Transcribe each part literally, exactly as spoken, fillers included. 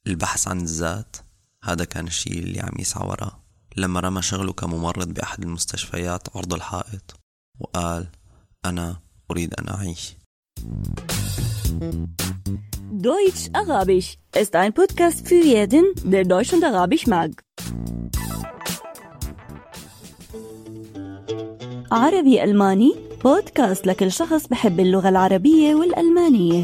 البحث عن الذات، هذا كان الشيء اللي عم يسعى وراه لما رمى شغله كممرض بأحد المستشفيات عرض الحائط وقال: أنا أريد أن أعيش. Deutsch Arabisch ist ein Podcast für jeden, der Deutsch und Arabisch mag. عربي ألماني بودكاست لكل شخص بحب اللغة العربية والألمانية.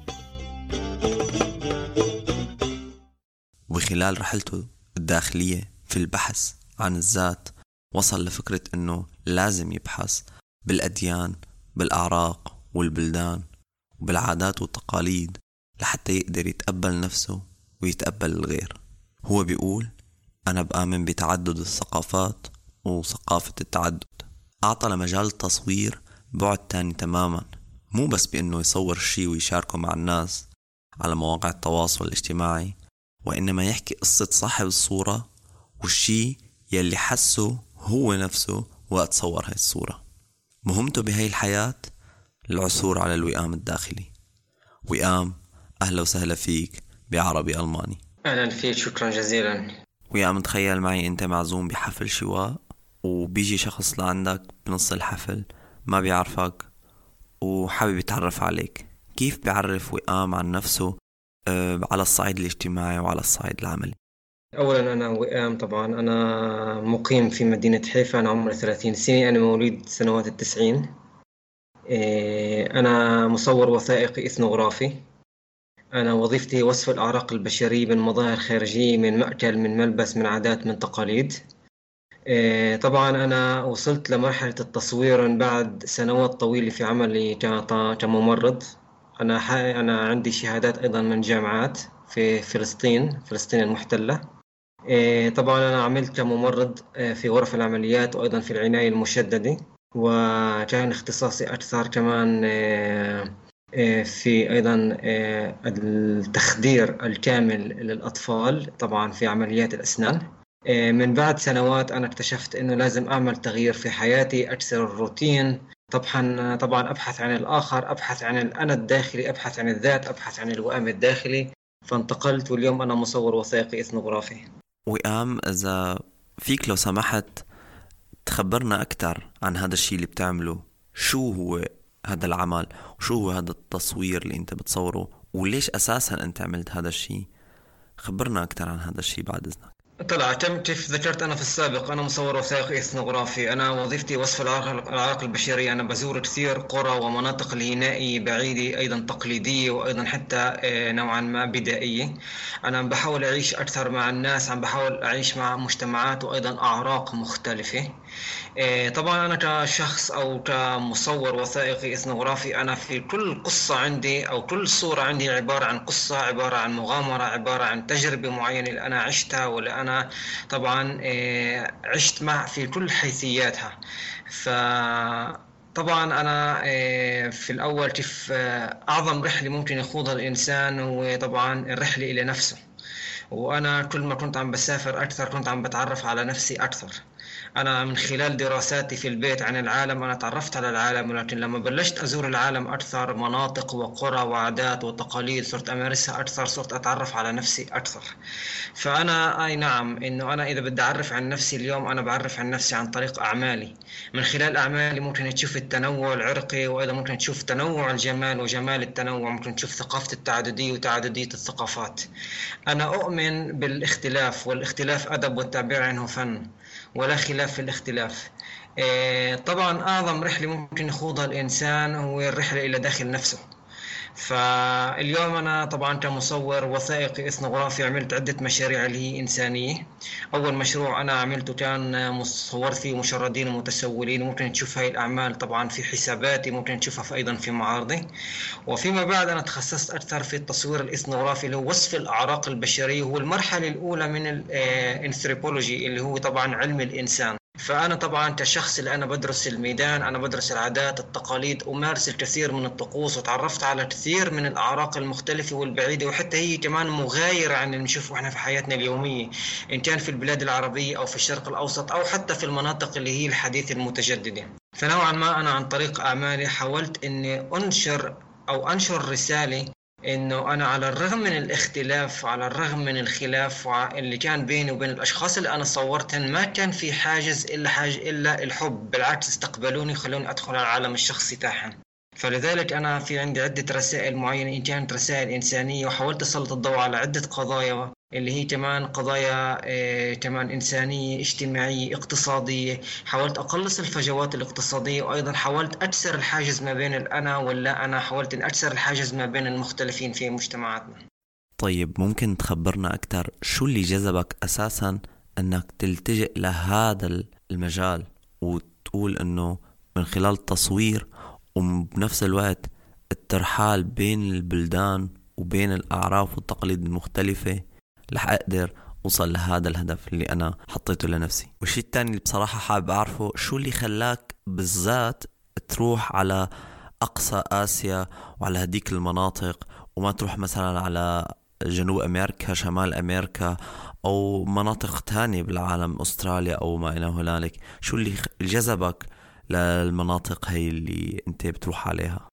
وخلال رحلته الداخلية في البحث عن الذات وصل لفكرة أنه لازم يبحث بالأديان، بالأعراق والبلدان وبالعادات والتقاليد لحتى يقدر يتقبل نفسه ويتقبل الغير. هو بيقول: أنا بآمن بتعدد الثقافات وثقافة التعدد. أعطى لمجال التصوير بعد تاني تماما، مو بس بأنه يصور الشي ويشاركه مع الناس على مواقع التواصل الاجتماعي، وإنما يحكي قصة صاحب الصورة والشي يلي حسه هو نفسه وقت صور هاي الصورة. مهمته بهاي الحياة العثور على الوئام الداخلي. وئام، أهلا وسهلا فيك بعربي ألماني. أهلا فيك، شكرا جزيلا. وئام، تخيل معي أنت معزوم بحفل شواء وبيجي شخص لعندك بنص الحفل ما بيعرفك وحابب يتعرف عليك. كيف بيعرف وئام عن نفسه أه على الصعيد الاجتماعي وعلى الصعيد العملي؟ أولا أنا وئام، طبعا أنا مقيم في مدينة حيفا، أنا عمري ثلاثين سنة، أنا مواليد سنوات التسعين. أنا مصور وثائقي إثنوغرافي. أنا وظيفتي وصف الأعراق البشرية من مظاهر خارجية، من مأكل، من ملبس، من عادات، من تقاليد. طبعا أنا وصلت لمرحلة التصوير بعد سنوات طويلة في عملي كممرض. أنا أنا عندي شهادات أيضا من جامعات في فلسطين فلسطين المحتلة. طبعا أنا عملت كممرض في غرف العمليات وأيضا في العناية المشددة، وكان اختصاصي أكثر كمان في أيضا التخدير الكامل للأطفال، طبعا في عمليات الأسنان. من بعد سنوات أنا اكتشفت أنه لازم أعمل تغيير في حياتي، أكسر الروتين. طبعا طبعا أبحث عن الآخر، أبحث عن الأنا الداخلي، أبحث عن الذات، أبحث عن الوئام الداخلي. فانتقلت واليوم أنا مصور وثائقي إثنوغرافي. وئام، إذا فيك لو سمحت تخبرنا أكتر عن هذا الشيء اللي بتعمله. شو هو هذا العمل وشو هو هذا التصوير اللي أنت بتصوره وليش أساسا أنت عملت هذا الشيء؟ خبرنا أكتر عن هذا الشيء بعد إذنك. طلع كم كيف ذكرت أنا في السابق، أنا مصور وثائقي إثنوغرافي. أنا وظيفتي وصف الأعراق البشرية. أنا بزور كثير قرى ومناطق الهنائية بعيدة، أيضا تقليدية وأيضا حتى نوعا ما بدائية. أنا بحاول أعيش أكثر مع الناس، عم بحاول أعيش مع مجتمعات وأيضا أعراق مختلفة. طبعا أنا كشخص أو كمصور وثائقي إثنوغرافي، أنا في كل قصة عندي أو كل صورة عندي عبارة عن قصة، عبارة عن مغامرة، عبارة عن تجربة معينة اللي أنا عشتها ولا أنا طبعا عشت مع في كل حيثياتها. فطبعا أنا في الأول كيف أعظم رحلة ممكن يخوضها الإنسان هو طبعا الرحلة إلى نفسه. وأنا كل ما كنت عم بسافر أكثر كنت عم بتعرف على نفسي أكثر. أنا من خلال دراساتي في البيت عن العالم أنا تعرفت على العالم، ولكن لما بلشت أزور العالم أكثر، مناطق وقرى وعادات وتقاليد صرت أمارسها أكثر، صرت أتعرف على نفسي أكثر. فأنا أي نعم إنه أنا إذا بدي أعرف عن نفسي اليوم أنا بعرف عن نفسي عن طريق أعمالي. من خلال أعمالي ممكن تشوف التنوع العرقي، وأيضا ممكن تشوف تنوع الجمال وجمال التنوع، ممكن تشوف ثقافة التعددية وتعددية الثقافات. أنا أؤمن بالاختلاف، والاختلاف أدب والتعبير عنه فن، ولا خلاف في الاختلاف. طبعا أعظم رحلة ممكن يخوضها الإنسان هو الرحلة إلى داخل نفسه. فاليوم أنا طبعا كمصور وثائقي إثنوغرافي عملت عدة مشاريع اللي هي إنسانية. أول مشروع أنا عملته كان مصور فيه مشردين ومتسولين، ممكن تشوف هاي الأعمال طبعا في حساباتي، ممكن تشوفها في أيضا في معارضي. وفيما بعد أنا تخصصت أكثر في التصوير الإثنوغرافي اللي هو وصف الأعراق البشرية، هو المرحلة الأولى من الانثروبولوجي اللي هو طبعا علم الإنسان. فأنا طبعا كشخص اللي أنا بدرس الميدان، أنا بدرس العادات التقاليد، أمارس الكثير من الطقوس، وتعرفت على كثير من الأعراق المختلفة والبعيدة، وحتى هي كمان مغايرة عن اللي نشوفه إحنا في حياتنا اليومية، إن كان في البلاد العربية أو في الشرق الأوسط أو حتى في المناطق اللي هي الحديثة المتجددة. فنوعا ما أنا عن طريق أعمالي حاولت إني أنشر أو أنشر رسالة إنه أنا على الرغم من الاختلاف، على الرغم من الخلاف اللي كان بيني وبين الأشخاص اللي أنا صورتهم، ما كان في حاجز إلا حاجة إلا الحب. بالعكس استقبلوني، خلوني أدخل على العالم الشخصي تاعهم. فلذلك أنا في عندي عدة رسائل معينة، إن كانت رسائل إنسانية، وحاولت أسلط الضوء على عدة قضايا اللي هي كمان قضايا إيه كمان إنسانية اجتماعية اقتصادية. حاولت أقلص الفجوات الاقتصادية، وأيضا حاولت أكسر الحاجز ما بين الأنا واللا أنا، حاولت أن أكسر الحاجز ما بين المختلفين في مجتمعاتنا. طيب ممكن تخبرنا أكتر شو اللي جذبك أساسا أنك تلتجئ لهذا المجال، وتقول أنه من خلال التصوير وبنفس الوقت الترحال بين البلدان وبين الأعراف والتقاليد المختلفة رح أقدر أوصل لهذا الهدف اللي أنا حطيته لنفسي؟ والشيء الثاني اللي بصراحة حابب أعرفه، شو اللي خلاك بالذات تروح على أقصى آسيا وعلى هديك المناطق، وما تروح مثلا على جنوب أمريكا، شمال أمريكا، أو مناطق تانية بالعالم، أستراليا أو ما إلى هنالك؟ شو اللي جذبك للمناطق هاي اللي أنت بتروح عليها؟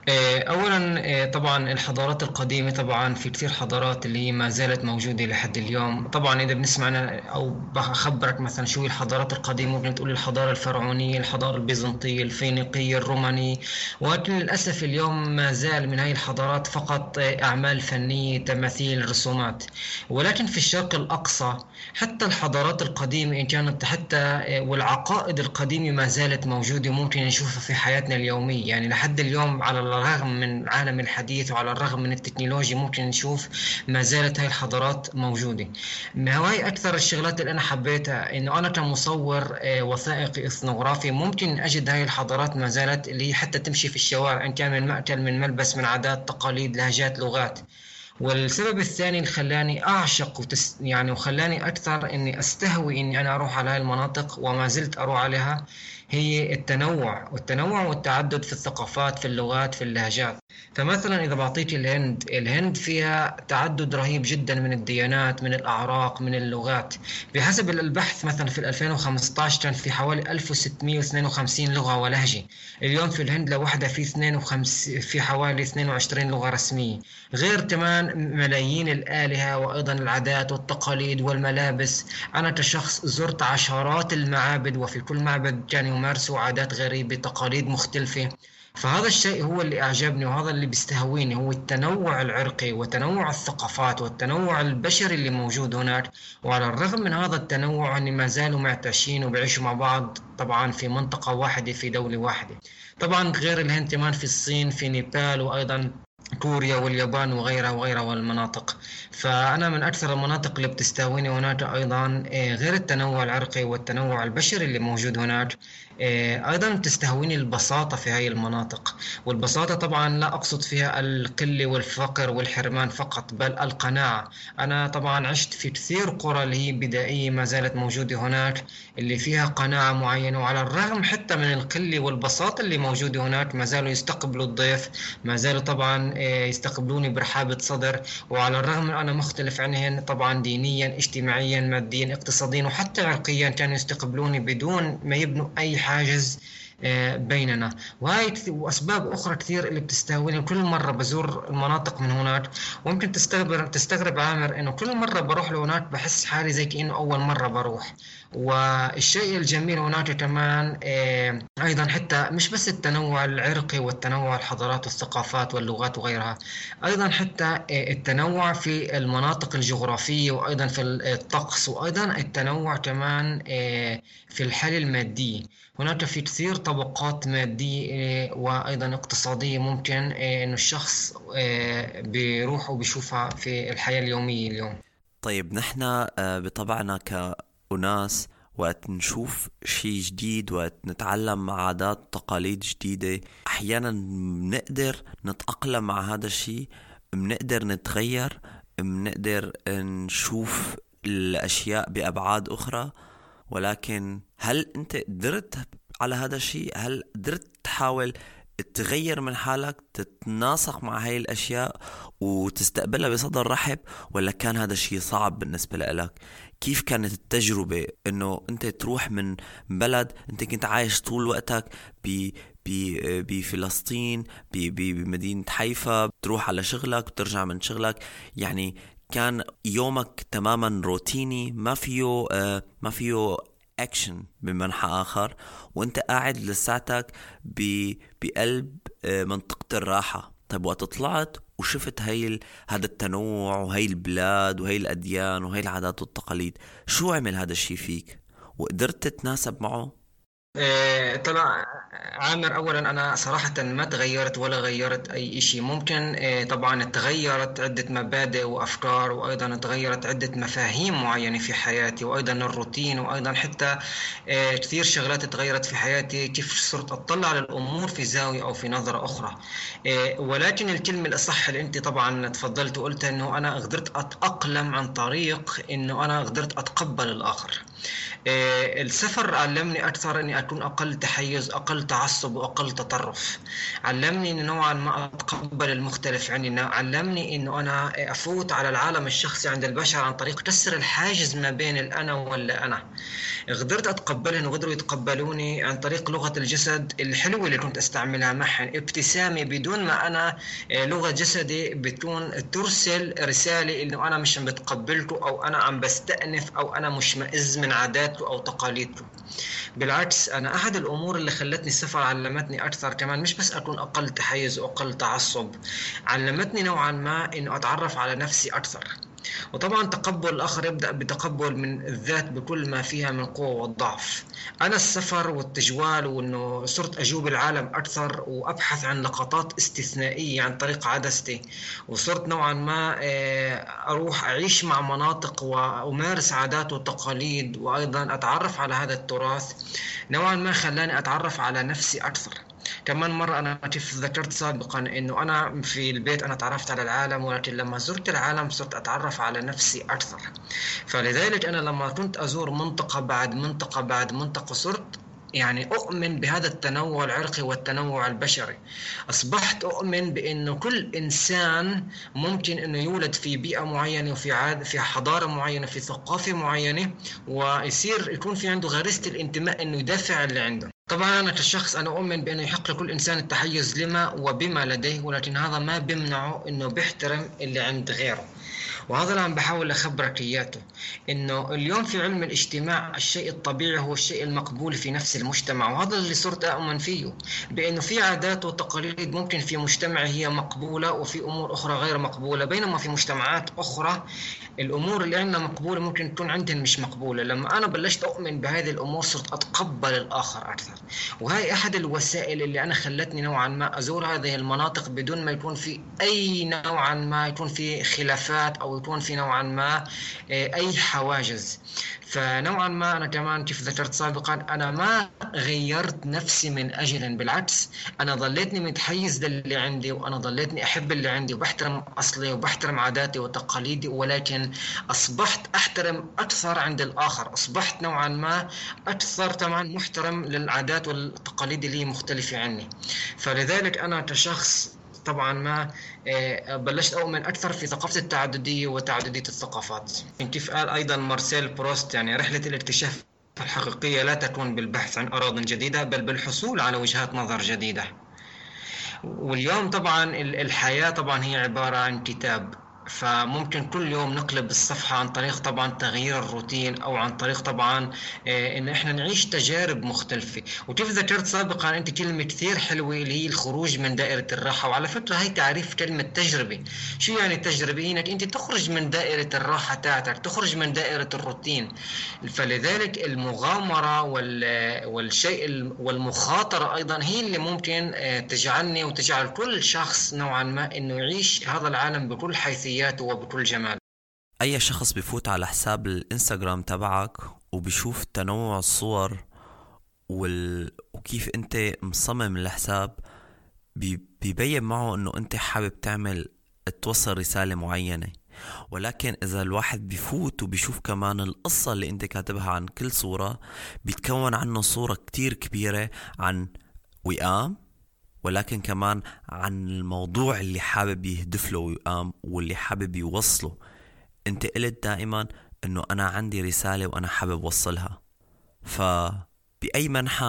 أولا طبعا الحضارات القديمة، طبعا في كثير حضارات اللي ما زالت موجودة لحد اليوم. طبعا إذا بنسمعنا أو بخبرك مثلا شو هي الحضارات القديمة، ممكن تقول الحضارة الفرعونية، الحضارة البيزنطية، الفينيقية، الرومانية. ولكن للأسف اليوم ما زال من هاي الحضارات فقط أعمال فنية، تماثيل، رسومات. ولكن في الشرق الأقصى حتى الحضارات القديمة إن كانت حتى والعقائد القديمة ما زالت موجودة، وممكن نشوفها في حياتنا اليومية. يعني لحد اليوم على الرغم من العالم الحديث وعلى الرغم من التكنولوجيا ممكن نشوف ما زالت هاي الحضارات موجودة. ما هواي أكثر الشغلات اللي أنا حبيتها، إنه أنا كمصور وثائقي إثنوغرافي ممكن أجد هاي الحضارات ما زالت، اللي حتى تمشي في الشوارع، إن كان من مأكل، من ملبس، من عادات، تقاليد، لهجات، لغات. والسبب الثاني اللي خلاني أعشق وتس يعني وخلاني أكثر إني أستهوي إني أنا أروح على هاي المناطق وما زلت أروح عليها، هي التنوع والتنوع والتعدد في الثقافات، في اللغات، في اللهجات. فمثلا إذا بعطيك الهند، الهند فيها تعدد رهيب جدا من الديانات، من الأعراق، من اللغات. بحسب البحث مثلا في ألفين وخمسة عشر كان في حوالي ألف وستمائة واثنين وخمسين لغة ولهجة. اليوم في الهند لوحدها في اثنين وخمسين في حوالي اثنين وعشرين لغة رسمية، غير كمان ملايين الآلهة، وأيضا العادات والتقاليد والملابس. أنا كشخص زرت عشرات المعابد، وفي كل معبد كان يمارسوا عادات غريبة، تقاليد مختلفة. فهذا الشيء هو اللي أعجبني، وهذا اللي بيستهويني، هو التنوع العرقي وتنوع الثقافات والتنوع البشري اللي موجود هناك. وعلى الرغم من هذا التنوع أن ما زالوا معتاشين وبيعيشوا مع بعض، طبعا في منطقة واحدة، في دولة واحدة. طبعا غير الهند كمان في الصين، في نيبال، وأيضا كوريا واليابان وغيرها وغيرها والمناطق. فأنا من أكثر المناطق اللي بتستهويني هناك أيضا، غير التنوع العرقي والتنوع البشري اللي موجود هناك، أيضا تستهويني البساطة في هاي المناطق. والبساطة طبعا لا أقصد فيها القلة والفقر والحرمان فقط، بل القناعة. أنا طبعا عشت في كثير قرى اللي هي بدائية ما زالت موجودة هناك، اللي فيها قناعة معينة، وعلى الرغم حتى من القلة والبساطة اللي موجودة هناك ما زالوا يستقبلوا الضيف، ما زالوا طبعا يستقبلوني برحابة صدر. وعلى الرغم من أنا مختلف عنهم طبعا دينيا، اجتماعيا، ماديا، اقتصاديا، وحتى عرقيا، كانوا يستقبلوني بدون ما يبنوا أي حاجز بيننا. وهاي وأسباب أخرى كثير اللي بتستهويني. كل مرة بزور المناطق من هناك، وممكن تستغرب تستغرب عامر إنه كل مرة بروح لهناك بحس حالي زي كأنه أول مرة بروح. والشيء الجميل هناك كمان أيضا حتى مش بس التنوع العرقي والتنوع الحضارات والثقافات واللغات وغيرها، أيضا حتى التنوع في المناطق الجغرافية، وأيضا في الطقس، وأيضا التنوع كمان في الحالة المادية. هناك في كثير طبقات مادية وأيضا اقتصادية ممكن إنه الشخص بيروح وبيشوفها في الحياة اليومية اليوم. طيب نحن بطبعنا كأناس وقت نشوف شيء جديد، وقت نتعلم عادات تقاليد جديدة، أحيانا بنقدر نتأقلم مع هذا الشيء، بنقدر نتغير، بنقدر نشوف الأشياء بأبعاد أخرى. ولكن هل أنت قدرت على هذا الشيء؟ هل قدرت تحاول تغير من حالك، تتناسق مع هاي الأشياء وتستقبلها بصدر رحب، ولا كان هذا الشيء صعب بالنسبة لك؟ كيف كانت التجربة إنه أنت تروح من بلد أنت كنت عايش طول وقتك بفلسطين بمدينة حيفا، بتروح على شغلك بترجع من شغلك. يعني كان يومك تماما روتيني، ما فيه آه ما فيه اكشن بمنحى آخر، وانت قاعد لساتك بقلب آه منطقة الراحة. طيب وقت طلعت وشفت هاي هذا التنوع وهي البلاد وهي الأديان وهي العادات والتقاليد، شو عمل هذا الشيء فيك وقدرت تتناسب معه؟ إيه طبعا عامر، اولا انا صراحه ما تغيرت ولا غيرت اي شيء. ممكن إيه طبعا تغيرت عده مبادئ وافكار، وايضا تغيرت عده مفاهيم معينه في حياتي، وايضا الروتين، وايضا حتى إيه كثير شغلات تغيرت في حياتي، كيف صرت اطلع على الامور في زاويه او في نظره اخرى. إيه ولكن الكلمه الاصح اللي انت طبعا تفضلت وقلت انه انا قدرت اتاقلم عن طريق انه انا قدرت اتقبل الاخر. إيه السفر علمني أكثر أني أكون أقل تحيز، أقل تعصب، وأقل تطرف. علمني أنه نوعا ما أتقبل المختلف عني، علمني أنه أنا أفوت على العالم الشخصي عند البشر عن طريق كسر الحاجز ما بين الأنا واللا أنا. قدرت أتقبلهم وقدروا يتقبلوني عن طريق لغة الجسد الحلوة اللي كنت أستعملها معهم، ابتسامي بدون ما أنا لغة جسدي بتكون ترسل رسالة إنه أنا مش بتقبلته، أو أنا عم بستأنف، أو أنا مشمئز من عاداته أو تقاليده. بالعكس، أنا أحد الأمور اللي خلتني السفر علمتني أكثر كمان مش بس أكون أقل تحيز وأقل تعصب، علمتني نوعا ما إنه أتعرف على نفسي أكثر. وطبعا تقبل الآخر يبدأ بتقبل من الذات بكل ما فيها من قوة والضعف. أنا السفر والتجوال وأنه صرت أجوب العالم أكثر وأبحث عن لقطات استثنائية عن طريق عدستي، وصرت نوعا ما أروح أعيش مع مناطق وأمارس عادات وتقاليد، وأيضا أتعرف على هذا التراث، نوعا ما خلاني أتعرف على نفسي أكثر. كمان مرة أنا كيف ذكرت سابقا إنه أنا في البيت أنا تعرفت على العالم، ولكن لما زرت العالم صرت أتعرف على نفسي أكثر. فلذلك أنا لما كنت أزور منطقة بعد منطقة بعد منطقة صرت يعني أؤمن بهذا التنوع العرقي والتنوع البشري. أصبحت أؤمن بأنه كل إنسان ممكن أنه يولد في بيئة معينة وفي عاد في حضارة معينة في ثقافة معينة، ويصير يكون في عنده غريزة الانتماء أنه يدافع اللي عنده. طبعا أنا كشخص أنا أؤمن بأنه يحق لكل إنسان التحيز لما وبما لديه، ولكن هذا ما بيمنعه أنه بيحترم اللي عند غيره. وهذا اللي عم بحاول أخبرك إياته، إنه اليوم في علم الاجتماع الشيء الطبيعي هو الشيء المقبول في نفس المجتمع، وهذا اللي صرت أؤمن فيه، بأنه في عادات وتقاليد ممكن في مجتمع هي مقبولة وفي أمور أخرى غير مقبولة، بينما في مجتمعات أخرى الأمور اللي عندنا مقبولة ممكن تكون عندهم مش مقبولة. لما أنا بلشت أؤمن بهذه الأمور صرت أتقبل الآخر أكثر، وهي أحد الوسائل اللي أنا خلتني نوعا ما أزور هذه المناطق بدون ما يكون في أي نوعا ما يكون في خلافات أو يكون في نوعا ما أي حواجز. فنوعا ما أنا كمان كيف ذكرت سابقا أنا ما غيرت نفسي من أجل، بالعكس أنا ظليتني متحيز للي عندي، وأنا ظليتني أحب اللي عندي وبحترم أصلي وبحترم عاداتي وتقاليدي، ولكن أصبحت أحترم أكثر عند الآخر، أصبحت نوعا ما أكثر طبعا محترم للعادات والتقاليد اللي مختلفة عني. فلذلك أنا كشخص طبعا ما بلشت أؤمن أكثر في ثقافة التعددية وتعددية الثقافات. كيف قال أيضا مارسيل بروست، يعني رحلة الاكتشاف الحقيقية لا تكون بالبحث عن أراضٍ جديدة بل بالحصول على وجهات نظر جديدة. واليوم طبعا الحياة طبعا هي عبارة عن كتاب، فممكن كل يوم نقلب الصفحة عن طريق طبعا تغيير الروتين، أو عن طريق طبعا إن إحنا نعيش تجارب مختلفة. وكيف ذكرت سابقا أنت كلمة كثير حلوة اللي هي الخروج من دائرة الراحة، وعلى فكرة هي تعريف كلمة تجربة. شو يعني التجربة؟ إنك أنت تخرج من دائرة الراحة تاعتك، تخرج من دائرة الروتين. فلذلك المغامرة والشيء والمخاطرة أيضا هي اللي ممكن تجعلني وتجعل كل شخص نوعا ما إنه يعيش هذا العالم بكل حيثية وبكل جمال. أي شخص بيفوت على حساب الإنستغرام تبعك وبيشوف تنوع الصور وال... وكيف أنت مصمم الحساب، بي... بيبين معه أنه أنت حابب تعمل توصل رسالة معينة. ولكن إذا الواحد بيفوت وبيشوف كمان القصة اللي أنت كاتبها عن كل صورة، بيتكون عنه صورة كتير كبيرة عن وئام، ولكن كمان عن الموضوع اللي حابب يهدف له ويقام واللي حابب يوصله. انت قلت دائما انه انا عندي رسالة وانا حابب وصلها. فبأي منحى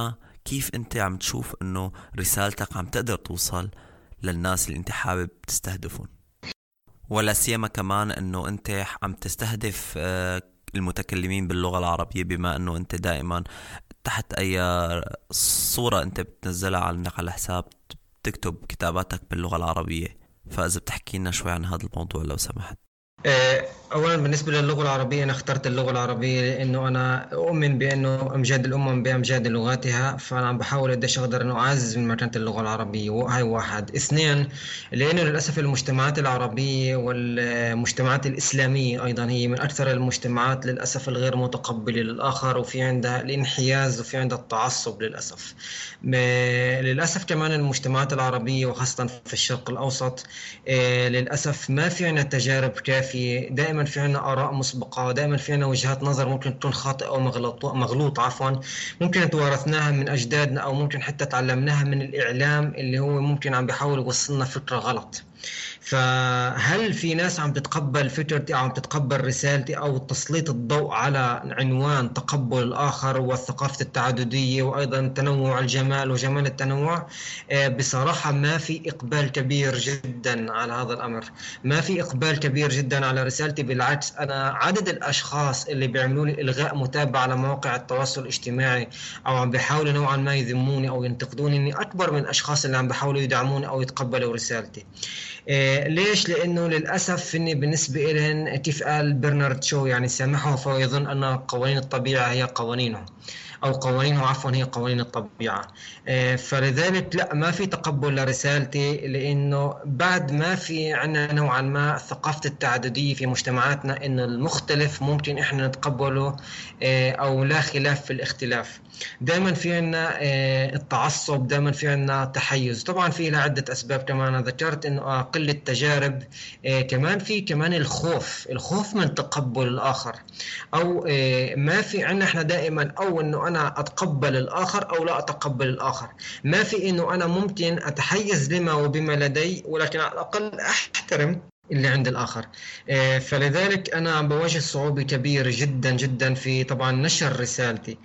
كيف أنت عم تشوف أنه رسالتك عم تقدر توصل للناس اللي أنت حابب تستهدفهم، ولا سيما كمان أنه أنت عم تستهدف المتكلمين باللغة العربية، بما أنه أنت دائما تحت أي صورة أنت بتنزلها عنك على حساب تكتب كتاباتك باللغة العربية. فإذا بتحكي لنا شوي عن هذا الموضوع لو سمحت. أولا بالنسبة للغة العربية، أنا اخترت اللغة العربية لأنه أنا أؤمن بأنه أمجاد الأمم بأمجاد لغاتها، فأنا عم بحاول قديش أقدر أنه أعزز من مكانة اللغة العربية، وهاي واحد. اثنين، لأنه للأسف المجتمعات العربية والمجتمعات الإسلامية أيضا هي من أكثر المجتمعات للأسف الغير متقبلة للآخر، وفي عندها الانحياز وفي عندها التعصب للأسف. للأسف كمان المجتمعات العربية وخاصة في الشرق الأوسط للأسف ما في عنا تجارب كافية، دائما في عنا آراء مسبقة، دائما في عنا وجهات نظر ممكن تكون خاطئة أو مغلوط عفوا، ممكن توارثناها من أجدادنا أو ممكن حتى تعلمناها من الإعلام اللي هو ممكن عم بيحاول يوصلنا فكرة غلط. فهل في ناس عم تتقبل فكرتي أو عم تتقبل رسالتي أو تسليط الضوء على عنوان تقبل الآخر والثقافة التعددية وأيضا تنوع الجمال وجمال التنوع؟ بصراحة ما في إقبال كبير جدا على هذا الأمر، ما في إقبال كبير جدا على رسالتي. بالعكس، أنا عدد الأشخاص اللي بيعملوا لي إلغاء متابعة على مواقع التواصل الاجتماعي أو عم بيحاولوا نوعا ما يذموني أو ينتقدوني إني أكبر من الأشخاص اللي عم بيحاولوا يدعموني أو يتقبلوا رسالتي. إيه ليش؟ لأنه للأسف إني بالنسبة إلهن كيف قال برنارد شو، يعني سامحه فهو يظن أن قوانين الطبيعة هي قوانينه أو قوانينه عفوا هي قوانين الطبيعة. إيه فلذلك لا، ما في تقبل لرسالتي، لأنه بعد ما في عنا نوعا ما ثقافة التعددية في مجتمعاتنا، إن المختلف ممكن إحنا نتقبله إيه أو لا خلاف في الاختلاف. دائما في عنا إيه التعصب، دائما في عنا تحيز. طبعا في لها عدة أسباب كمان، أنا ذكرت إنه قلة التجارب، إيه كمان في كمان الخوف الخوف من تقبل الآخر، أو إيه ما في عنا إحنا دائما أو إنه أنا أتقبل الآخر أو لا أتقبل الآخر، ما في إنه أنا ممكن أتحيز لما وبما لدي، ولكن على الأقل أحترم اللي عند الآخر. فلذلك أنا عم بواجه صعوبة كبيرة جدا جدا في طبعا نشر رسالتي.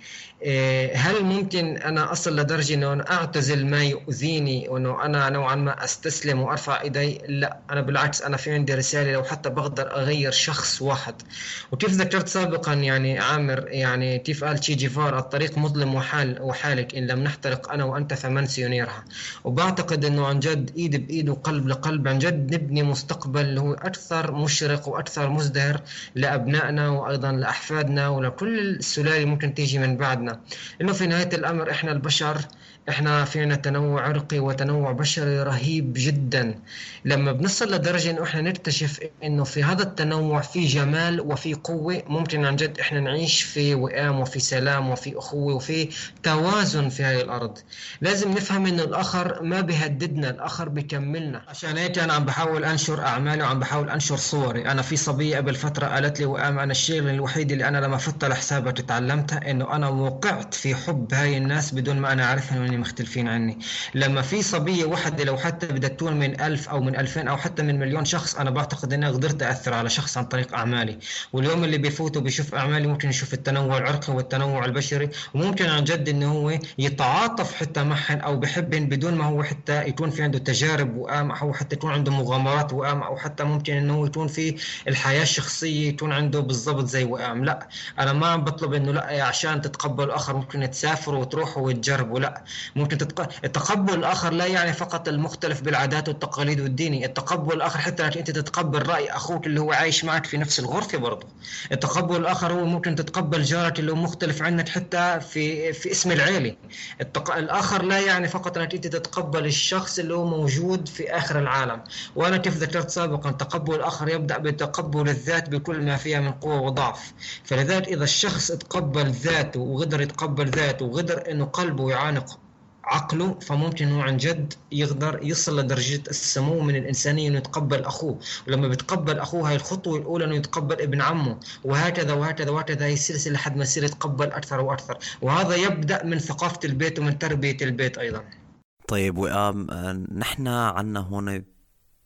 هل ممكن أنا أصل لدرجة أنه أنا أعتزل ما يؤذيني وأنه أنا نوعا ما أستسلم وأرفع إيدي؟ لا، أنا بالعكس، أنا في عندي رسالة لو حتى بقدر أغير شخص واحد. وكيف ذكرت سابقا يعني عامر، يعني كيف قال تشي جيفار، الطريق مظلم وحال وحالك إن لم نحترق أنا وأنت فمن سينيرها. وبعتقد أنه عن جد إيد بإيد وقلب لقلب عن جد نبني مستقبل اللي هو أكثر مشرق وأكثر مزدهر لأبنائنا وأيضا لأحفادنا ولكل السلالة ممكن تيجي من بعدنا. إنه في نهاية الأمر إحنا البشر، إحنا فينا تنوع عرقي وتنوع بشري رهيب جدا. لما بنصل لدرجة إنه إحنا نكتشف إنه في هذا التنوع في جمال وفي قوة، ممكن عن جد إحنا نعيش في وئام وفي سلام وفي أخوة وفي توازن في هذه الأرض. لازم نفهم إنه الآخر ما بيهددنا، الآخر بيكملنا. عشان هيك أنا عم بحاول أنشر أعمالي وعم بحاول أنشر صوري. أنا في صبية قبل فترة قالت لي وئام، أنا الشيء الوحيد اللي أنا لما فتت لحسابها تعلمتها إنه أنا وقعت في حب هاي الناس بدون ما أنا أعرفهم مختلفين عني. لما في صبية واحدة لو حتى بدها تكون من ألف أو من ألفين أو حتى من مليون شخص، أنا بعتقد أني قدرت أثر على شخص عن طريق أعمالي. واليوم اللي بيفوت وبيشوف أعمالي ممكن يشوف التنوع العرقي والتنوع البشري، وممكن عن جد أنه هو يتعاطف حتى معهن أو بحبهن بدون ما هو حتى يكون في عنده تجارب وئام أو حتى يكون عنده مغامرات وئام أو حتى ممكن أنه يكون في الحياة الشخصية يكون عنده بالضبط زي وئام. لا، أنا ما عم بطلب أنه لا عشان تتقبل الآخر ممكن تسافروا وتروحوا وتجربوا، لا، ممكن تتق... التقبل الآخر لا يعني فقط المختلف بالعادات والتقاليد والديني. التقبل الآخر حتى أنت تتقبل رأي أخوك اللي هو عايش معك في نفس الغرفة برضه. التقبل الآخر هو ممكن تتقبل جارك اللي هو مختلف عنك حتى في في اسم العيلة. التق... الآخر لا يعني فقط أنك أنت تتقبل الشخص اللي هو موجود في آخر العالم. وأنا كيف ذكرت سابقا، تقبل الآخر يبدأ بتقبل الذات بكل ما فيها من قوة وضعف. فلذلك إذا الشخص تقبل ذاته وقدر يتقبل ذاته وقدر إنه قلبه يعانق عقله، فممكن هو عن جد يقدر يصل لدرجة السمو من الإنسانية إنه يتقبل أخوه. ولما بيتقبل أخوه هاي الخطوة الأولى إنه يتقبل ابن عمه، وهكذا وهكذا وهكذا، هي السلسلة لحد ما يصير يتقبل أكثر وأكثر. وهذا يبدأ من ثقافة البيت ومن تربية البيت أيضا. طيب وئام، نحن عنا هون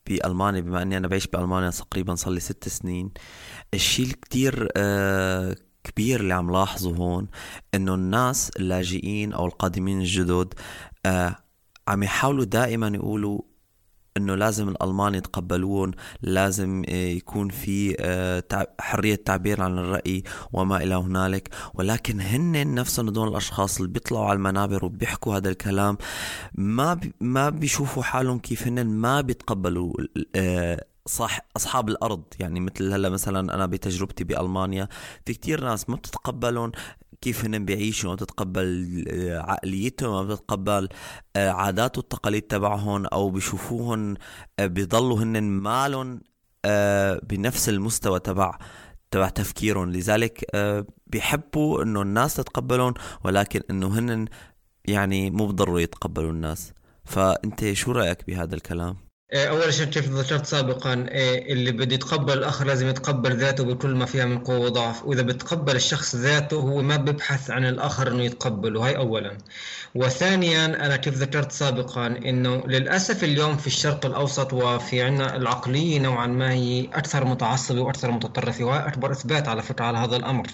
بألمانيا، بما أني أنا بعيش بألمانيا تقريبا صار لي ست سنين، الشيء الكتير آه كبير اللي عم لاحظه هون إنه الناس اللاجئين أو القادمين الجدد آه عم يحاولوا دائما يقولوا إنه لازم الألمان يتقبلون، لازم يكون في حرية تعبير عن الرأي وما إلى هنالك. ولكن هن نفسهم دون الأشخاص اللي بيطلعوا على المنابر وبيحكوا هذا الكلام ما بي ما بيشوفوا حالهم كيف هن ما بيتقبلوا صح أصحاب الأرض. يعني مثل هلا مثلا أنا بتجربتي بألمانيا في كتير ناس ما بتتقبلون كيف هن بيعيشوا، ما بتتقبل عقليتهم، ما بتتقبل عادات والتقاليد تبعهم، أو بيشوفوهن بيضلوا هن مالهم بنفس المستوى تبع تبع تفكيرهم. لذلك بيحبوا إنه الناس تتقبلون، ولكن إنه هن يعني مو بضروري يتقبلوا الناس. فأنت شو رأيك بهذا الكلام؟ أول شيء كيف ذكرت سابقا، اللي بده يتقبل الآخر لازم يتقبل ذاته بكل ما فيها من قوة وضعف. وإذا بتقبل الشخص ذاته هو ما بيبحث عن الآخر إنه يتقبله، هاي أولا. وثانيا أنا كيف ذكرت سابقا إنه للأسف اليوم في الشرق الأوسط وفي عنا العقلية نوعا ما هي أكثر متعصبة وأكثر متطرفة، وهي أكبر إثبات على فكرة على هذا الأمر.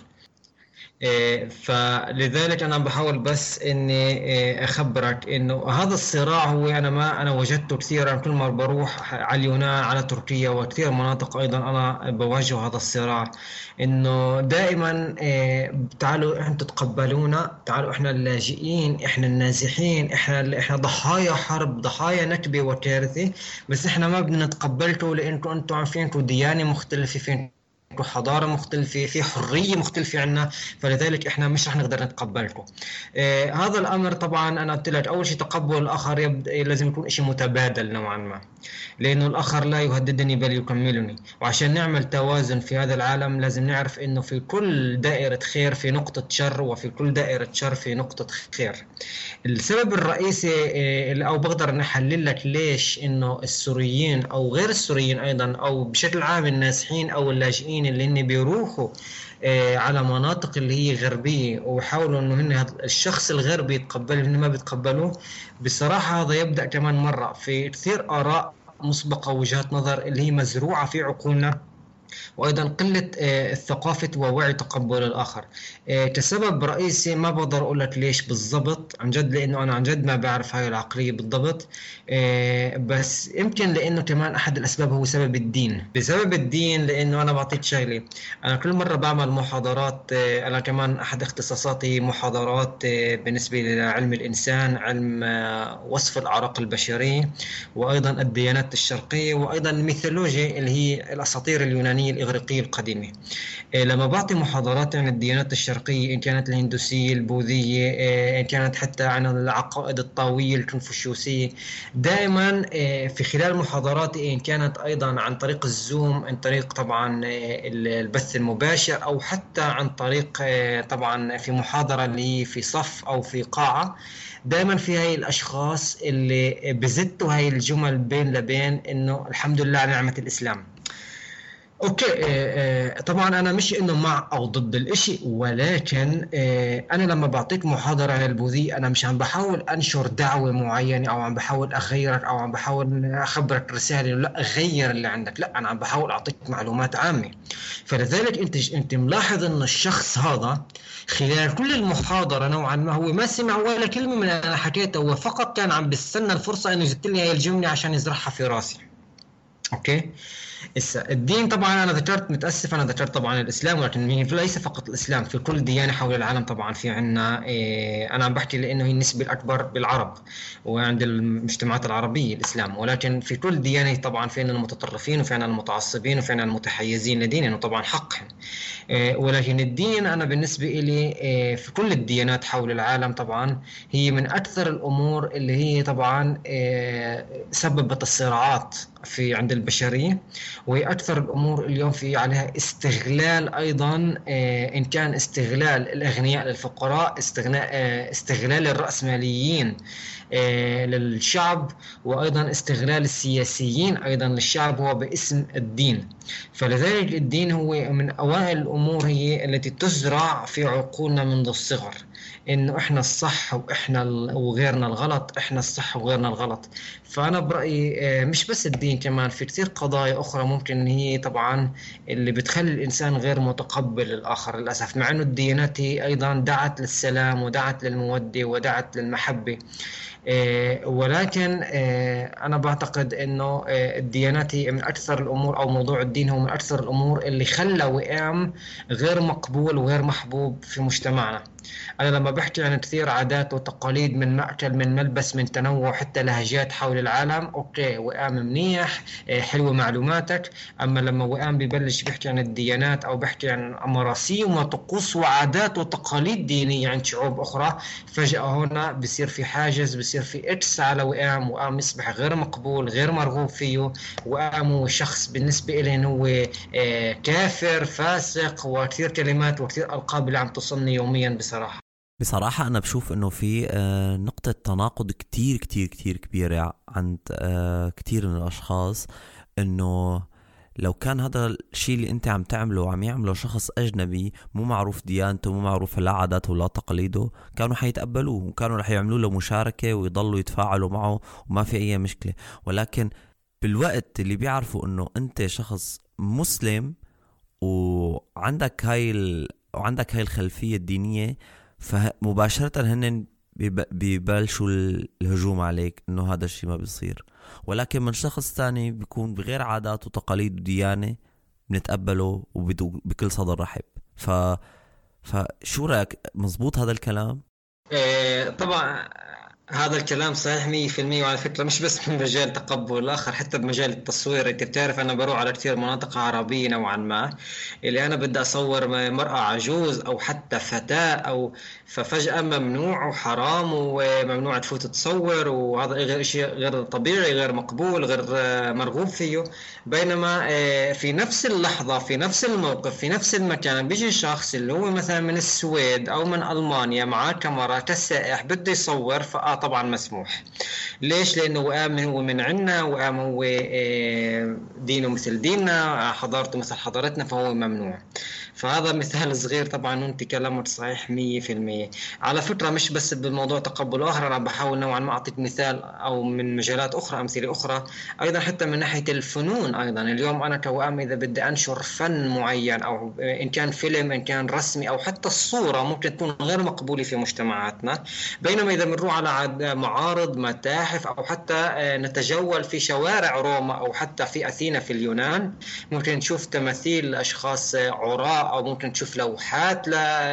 فلذلك أنا بحاول بس إني أخبرك إنه هذا الصراع هو أنا ما أنا وجدته كثيرا كل ما بروح على اليونان على تركيا وكثير مناطق أيضا أنا بواجه هذا الصراع، إنه دائما تعالوا أنتم تتقبلونا، تعالوا إحنا اللاجئين، إحنا النازحين، إحنا إحنا ضحايا حرب، ضحايا نكبة وكارثة، بس إحنا ما بدنا نتقبلكم لأنكم أنتم عارفين أنتم ديانة مختلفة، فين حضارة مختلفة، في حرية مختلفة عنا، فلذلك إحنا مش رح نقدر نتقبلكم. آه هذا الأمر طبعا أنا قلت لك أول شيء تقبل الآخر يبدأ لازم يكون إشي متبادل نوعا ما، لأنه الآخر لا يهددني بل يكملني. وعشان نعمل توازن في هذا العالم لازم نعرف إنه في كل دائرة خير في نقطة شر، وفي كل دائرة شر في نقطة خير. السبب الرئيسي آه أو بقدر نحلل لك ليش إنه السوريين أو غير السوريين أيضا أو بشكل عام النازحين أو اللاجئين اللي هن بيروحوا آه على مناطق اللي هي غربية ويحاولوا انه هن الشخص الغربي يتقبل هن ما بيتقبلوه، بصراحة هذا يبدأ كمان مرة في كثير آراء مسبقة ووجهات نظر اللي هي مزروعة في عقولنا، وأيضا قلة الثقافة ووعي تقبل الآخر كسبب رئيسي. ما بقدر أقول لك ليش بالضبط عن جد، لأنه أنا عن جد ما بعرف هاي العقلية بالضبط، بس يمكن لأنه كمان أحد الأسباب هو سبب الدين. بسبب الدين لأنه أنا بعطيك شغلة، أنا كل مرة بعمل محاضرات، أنا كمان أحد اختصاصاتي محاضرات بالنسبة لعلم الإنسان، علم وصف الأعراق البشرية، وأيضا الديانات الشرقية، وأيضا الميثولوجيا اللي هي الأساطير اليونانية الإغريقية القديمة. لما بعطي محاضرات عن الديانات الشرقية إن كانت الهندوسية البوذية إن كانت حتى عن العقائد الطاوية الكونفوشيوسية، دائما في خلال محاضراتي إن كانت أيضا عن طريق الزوم، عن طريق طبعا البث المباشر، أو حتى عن طريق طبعا في محاضرة اللي في صف أو في قاعة، دائما في هاي الأشخاص اللي بزتوا هاي الجمل بين لبين إنه الحمد لله على نعمة الإسلام. اوكي طبعا انا مش انه مع او ضد الاشي، ولكن انا لما بعطيك محاضرة عن البوذية انا مش عم بحاول انشر دعوة معينة او عم بحاول اغيرك او عم بحاول اخبرك رسالة لا غير اللي عندك، لا انا عم بحاول اعطيك معلومات عامة. فلذلك انت انت ملاحظ ان الشخص هذا خلال كل المحاضرة نوعا ما هو ما سمع ولا كلمة من اللي انا حكيته، هو فقط كان عم بستنى الفرصة انه يزت لي هاي الجملة عشان يزرعها في راسي. اوكي الدين طبعا انا ذكرت، متاسف انا ذكرت طبعا الاسلام، ولكن ليس فقط الاسلام، في كل ديانه حول العالم طبعا في عنا إيه، انا عم بحكي لانه هي النسبه الاكبر بالعرب وعند المجتمعات العربيه الاسلام، ولكن في كل ديانه طبعا في عنا المتطرفين وفي عنا المتعصبين وفي عنا المتحيزين لدينهم، وطبعا حقهم إيه، ولكن الدين انا بالنسبه لي إيه في كل الديانات حول العالم طبعا هي من اكثر الامور اللي هي طبعا إيه سببت الصراعات في عند البشريه، وهي أكثر الأمور اليوم في عليها استغلال أيضا، إن كان استغلال الأغنياء للفقراء، استغلال الرأسماليين للشعب، وأيضا استغلال السياسيين أيضا للشعب هو باسم الدين. فلذلك الدين هو من أوائل الأمور هي التي تزرع في عقولنا منذ الصغر. إنه إحنا الصح وإحنا ال- وغيرنا الغلط، إحنا الصح وغيرنا الغلط. فأنا برأيي آه، مش بس الدين، كمان في كتير قضايا أخرى ممكن إن هي طبعا اللي بتخلي الإنسان غير متقبل الآخر للأسف، مع إنه الديانات هي أيضا دعت للسلام ودعت للمودة ودعت للمحبة. آه، ولكن آه، أنا بعتقد إنه آه، الديانات هي من أكثر الأمور، أو موضوع الدين هو من أكثر الأمور اللي خلى وئام غير مقبول وغير محبوب في مجتمعنا. أنا لما بحكي عن كثير عادات وتقاليد، من مأكل من ملبس من تنوع حتى لهجات حول العالم، أوكي وئام منيح، آه، حلوة معلوماتك. أما لما وئام ببلش بيحكي عن الديانات أو بيحكي عن مراسيم وطقوس وعادات وتقاليد دينية عند شعوب أخرى، فجأة هنا بصير في حاجز، بصير في إكس على وئام. وئام يصبح غير مقبول، غير مرغوب فيه. وئام هو شخص بالنسبة إليه هو آه، كافر، فاسق، وكثير كلمات وكثير ألقاب اللي عم تصلني يوميا بصراحة. بصراحة أنا بشوف إنه في آه، نقطة تناقض كتير كتير كتير كبيرة عند آه، كتير من الأشخاص، إنه لو كان هذا الشيء اللي أنت عم تعمله عم يعمله شخص أجنبي مو معروف ديانته، مو معروف لا عاداته ولا تقاليده، كانوا حيتقبلوه وكانوا رح يعملوا له مشاركة ويضلوا يتفاعلوا معه وما في أي مشكلة. ولكن بالوقت اللي بيعرفوا إنه أنت شخص مسلم وعندك هاي ال... وعندك هاي الخلفية الدينية، فمباشرة هن بيب- بيبلشوا ال- الهجوم عليك انه هذا الشيء ما بيصير. ولكن من شخص تاني بيكون بغير عادات وتقاليد وديانة بنتقبله وبدو- بكل صدر رحب. ف فشو رأيك، مزبوط هذا الكلام؟ آه، طبعا هذا الكلام صحيح مية في المية. وعلى فكرة مش بس من مجال تقبل الآخر، حتى بمجال التصوير. أنت بتعرف أنا بروح على كثير مناطق عربية نوعا ما، اللي أنا بدي أصور م- مرأة عجوز أو حتى فتاة، أو ففجأة ممنوع وحرام وممنوع تفوت تصور، وهذا غير شيء غير طبيعي، غير مقبول، غير آه، مرغوب فيه. بينما آه، في نفس اللحظة، في نفس الموقف، في نفس المكان، بيجي شخص اللي هو مثلا من السويد أو من ألمانيا معاه كاميرا كسائح بده يصور، فآه طبعا مسموح. ليش؟ لأنه وئام هو من عنا، وئام هو آه، دينه مثل ديننا، حضارته مثل حضارتنا، فهو ممنوع. فهذا مثال صغير طبعا، وانت كلامك صحيح مية في المية. على فكرة مش بس بالموضوع تقبل آخر، أنا بحاول نوعا ما أعطيك مثال أو من مجالات أخرى، أمثلة أخرى أيضا، حتى من ناحية الفنون. أيضا اليوم أنا كوئام إذا بدي أنشر فن معين، أو إن كان فيلم، إن كان رسمي، أو حتى الصورة، ممكن تكون غير مقبولة في مجتمعاتنا. بينما إذا بنروح على عد- معارض، متاحف، أو حتى آه، نتجول في شوارع روما، أو حتى في أثينا في اليونان، ممكن نشوف تماثيل لأشخاص آه، عراة، أو ممكن تشوف لوحات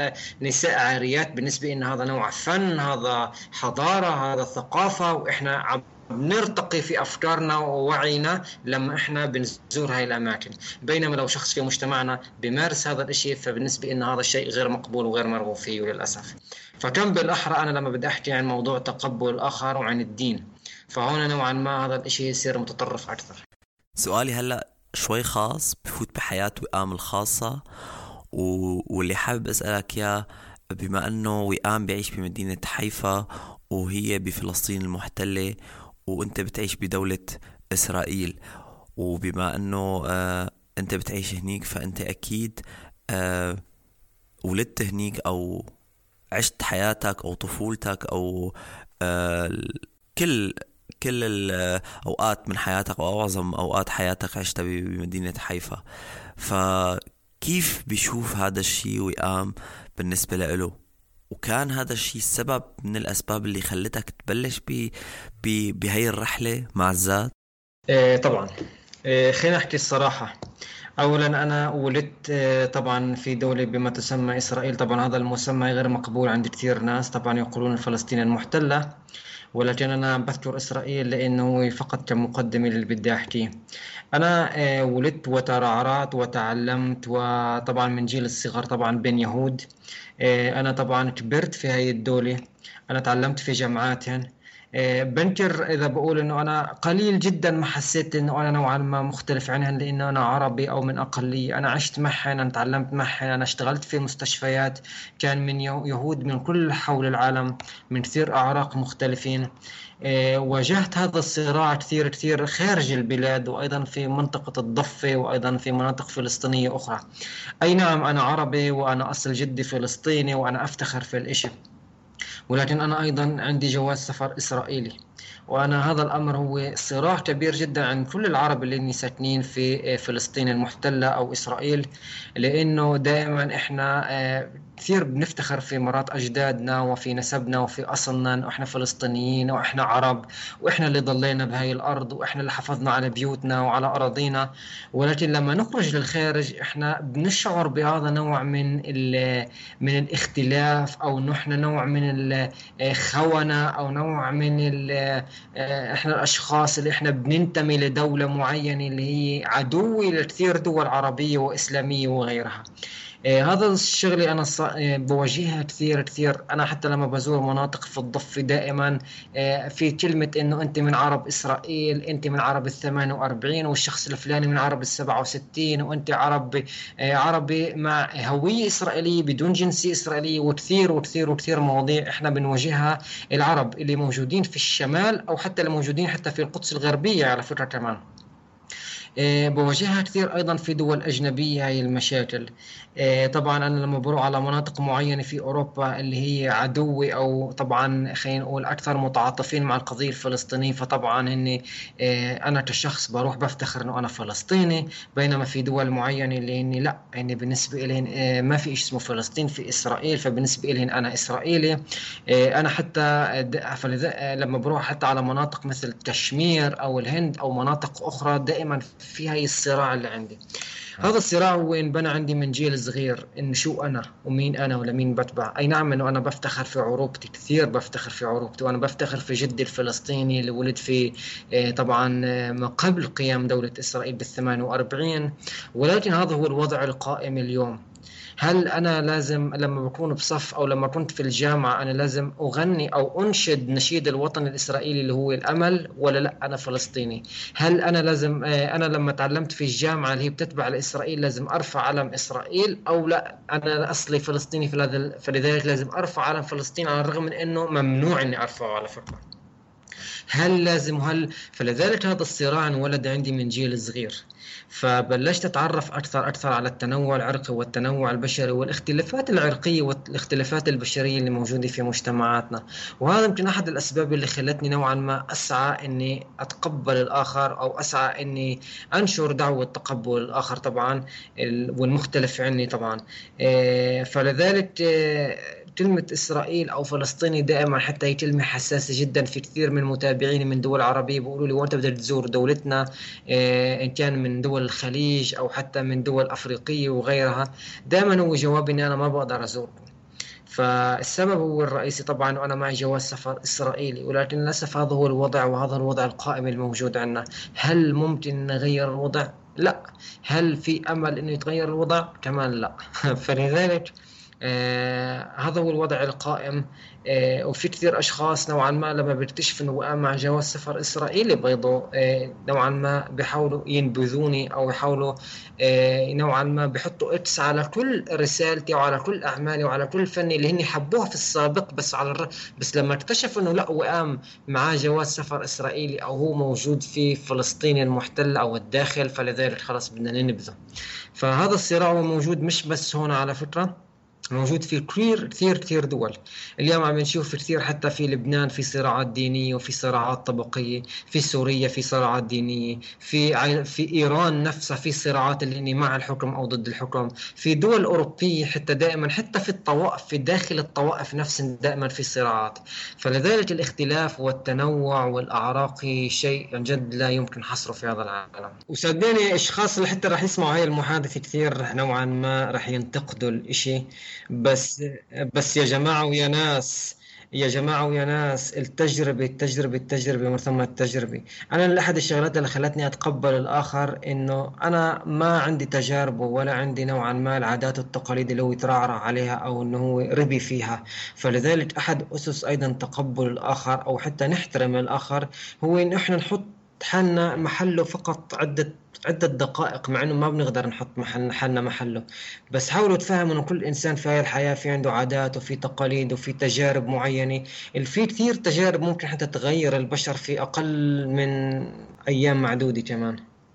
لنساء عاريات. بالنسبة إن هذا نوع فن، هذا حضارة، هذا ثقافة، وإحنا عم بنرتقي في أفكارنا ووعينا لما إحنا بنزور هاي الأماكن. بينما لو شخص في مجتمعنا بيمارس هذا الإشي، فبالنسبة إن هذا الشيء غير مقبول وغير مرغوب فيه للأسف. فكم بالأحرى أنا لما بدي أحكي عن موضوع تقبل الآخر وعن الدين، فهون نوعا ما هذا الإشي يصير متطرف أكثر. سؤالي هلأ شوي خاص، بفوت بحياة وئام الخاصة، و... واللي حابب أسألك يا، بما أنه وئام بيعيش بمدينة حيفا وهي بفلسطين المحتلة، وأنت بتعيش بدولة إسرائيل، وبما أنه آه أنت بتعيش هنيك، فأنت أكيد آه ولدت هنيك أو عشت حياتك أو طفولتك أو آه كل كل الأوقات من حياتك أو معظم أوقات حياتك عشتها بمدينة حيفا. فكيف بيشوف هذا الشيء وئام بالنسبة له؟ وكان هذا الشيء السبب من الأسباب اللي خلتك تبلش ب ب بهاي الرحلة مع الذات؟ إيه طبعا. إيه خلينا نحكي الصراحة. أولا أنا ولدت آه، طبعا في دولة بما تسمى إسرائيل. طبعا هذا المسمى غير مقبول عند كثير ناس، طبعا يقولون فلسطين المحتلة، ولكن أنا بذكر إسرائيل لأنه فقط كمقدمة للي بدي أحكيه. أنا آه، ولدت وترعرعت وتعلمت، وطبعا من جيل الصغر طبعا بين يهود. آه، أنا طبعا كبرت في هاي الدولة. أنا تعلمت في جامعاتهن. آه، بنكر إذا بقول إنه أنا قليل جدا ما حسيت إنه أنا نوعا ما مختلف عنهن، لأنه أنا عربي أو من أقلية. أنا عشت معهن، أنا تعلمت معهن، أنا اشتغلت في مستشفيات كان من يهو- يهود من كل حول العالم، من كثير أعراق مختلفين. آه، واجهت هذا الصراع كثير كثير خارج البلاد، وأيضا في منطقة الضفة، وأيضا في مناطق فلسطينية أخرى. أي نعم أنا عربي، وأنا أصل جدي فلسطيني، وأنا أفتخر في الإشي. ولكن أنا أيضا عندي جواز سفر إسرائيلي. وأنا هذا الأمر هو صراع كبير جدا عند كل العرب اللي ساكنين في فلسطين المحتلة أو إسرائيل، لأنه دائما إحنا آه، كثير بنفتخر في مرات أجدادنا وفي نسبنا وفي أصلنا، وإحنا فلسطينيين وإحنا عرب، وإحنا اللي ضلينا بهاي الأرض، وإحنا اللي حافظنا على بيوتنا وعلى أراضينا. ولكن لما نخرج للخارج إحنا بنشعر بهذا نوع من ال- من الاختلاف، أو نحن نوع من الخونة، أو نوع من ال- إحنا الأشخاص اللي إحنا بننتمي لدولة معينة اللي هي عدوة لكثير دول عربية وإسلامية وغيرها. إيه، هذا الشغلي أنا ص- إيه، بواجهها كثير كثير. أنا حتى لما بزور مناطق في الضفة دائما إيه، في كلمة إنه أنت من عرب إسرائيل، أنت من عرب الثمانية وأربعين، والشخص الفلاني من عرب السبعة وستين، وأنت عربي إيه، عربي مع هوية إسرائيلية بدون جنسية إسرائيلية، وكثير وكثير وكثير مواضيع إحنا بنواجهها. العرب اللي موجودين في الشمال، أو حتى اللي موجودين حتى في القدس الغربية على فكرة كمان، آه، بواجهها كثير أيضا في دول أجنبية هاي المشاكل. آه، طبعا أنا لما بروح على مناطق معينة في أوروبا اللي هي عدوة، أو طبعا خلينا نقول أكثر متعاطفين مع القضية الفلسطينية، فطبعا هني آه، أنا كشخص بروح بفتخر إنه أنا فلسطيني. بينما في دول معينة اللي هني لا، يعني بالنسبة إليهم آه، ما في شيء اسمه فلسطين، في إسرائيل، فبالنسبة إليهم أنا إسرائيلي. آه، أنا حتى د- فلذا- آه، لما بروح حتى على مناطق مثل كشمير أو الهند أو مناطق أخرى، دائما في هاي الصراع اللي عندي. هذا الصراع هو انبنى عندي من جيل صغير، إن شو أنا ومين أنا ولمين بتبع. أي نعم إنه أنا بفتخر في عروبتي، كثير بفتخر في عروبتي، وأنا بفتخر في جدي الفلسطيني اللي ولد في آه، طبعا آه، ما قبل قيام دولة إسرائيل بالثمانية وأربعين. ولكن هذا هو الوضع القائم اليوم. هل أنا لازم لما بكون بصف، أو لما كنت في الجامعة، أنا لازم أغني أو أنشد نشيد الوطن الإسرائيلي اللي هو الأمل، ولا لا أنا فلسطيني؟ هل أنا لازم آه، أنا لما تعلمت في الجامعة اللي هي بتتبع لإسرائيل لازم أرفع علم إسرائيل، أو لا أنا أصلي فلسطيني فلذ- فلذلك لازم أرفع علم فلسطين، على الرغم من أنه ممنوع أني أرفعه على فكرة؟ هل لازم هل فلذلك هذا الصراع انولد عندي من جيل صغير. فبلشت أتعرف أكثر أكثر على التنوع العرقي والتنوع البشري والاختلافات العرقية والاختلافات البشرية اللي موجودة في مجتمعاتنا. وهذا يمكن أحد الأسباب اللي خلتني نوعا ما أسعى إني أتقبل الآخر، أو أسعى إني أنشر دعوة تقبل الآخر طبعا، ال- والمختلف عني طبعا. إيه، فلذلك إيه، كلمة إسرائيل أو فلسطيني دائما حتى هي كلمة حساسة جدا في كثير من متابعيني من دول عربية. بيقولوا لي وأنت بدك تزور دولتنا، آه، إن كان من دول الخليج أو حتى من دول أفريقية وغيرها، دائما هو جوابي إني أنا ما بقدر أزوركم. فالسبب هو الرئيسي طبعا، وأنا معي جواز سفر إسرائيلي، ولكن للأسف هذا هو الوضع، وهذا الوضع القائم الموجود عندنا. هل ممكن نغير الوضع؟ لا. هل في أمل إنه يتغير الوضع؟ كمان لا. فلذلك آه هذا هو الوضع القائم. آه وفي كثير أشخاص نوعا ما لما بيكتشفوا إنه وقع مع جواز سفر إسرائيلي بيضوا آه نوعا ما بيحاولوا ينبذوني، أو يحاولوا آه نوعا ما بيحطوا إكس على كل رسالتي وعلى كل أعمالي وعلى كل فني اللي هني حبوها في السابق. بس على الر... بس لما اكتشفوا إنه لا، وقام معاه جواز سفر إسرائيلي، أو هو موجود في فلسطين المحتلة أو الداخل، فلذلك خلاص بدنا ننبذه. فهذا الصراع هو موجود مش بس هنا على فكرة، موجود في كثير كثير كثير دول. اليوم عم نشوف في كثير، حتى في لبنان في صراعات دينية وفي صراعات طبقية، في سوريا في صراعات دينية، في عي- في إيران نفسها في صراعات اللي هي مع الحكم أو ضد الحكم، في دول أوروبية حتى دائما، حتى في الطوائف، في داخل الطوائف نفسها دائما في صراعات. فلذلك الاختلاف والتنوع والأعراق شيء عن جد لا يمكن حصره في هذا العالم. وصدقني الأشخاص اللي حتى راح يسمعوا هاي المحادثة كثير نوعا ما راح ينتقدوا الإشي. بس بس يا جماعة ويا ناس، يا جماعة ويا ناس، التجربة التجربة التجربة من ثم التجربة. أنا من أحد الشغلات اللي خلتني أتقبل الآخر إنه أنا ما عندي تجاربه، ولا عندي نوعا ما العادات والتقاليد اللي هو يترعرع عليها، أو إنه هو ربي فيها. فلذلك أحد أسس أيضا تقبل الآخر، أو حتى نحترم الآخر، هو إن إحنا نحط حالنا محله فقط عدة عدة دقائق، مع إنه ما بنقدر نحط محل حالنا محله. بس حاولوا تفهموا إنه كل إنسان في هاي الحياة في عنده عادات وفي تقاليد وفي تجارب معينة. في كثير تجارب ممكن حتى تغير البشر في أقل من أيام معدودة كمان.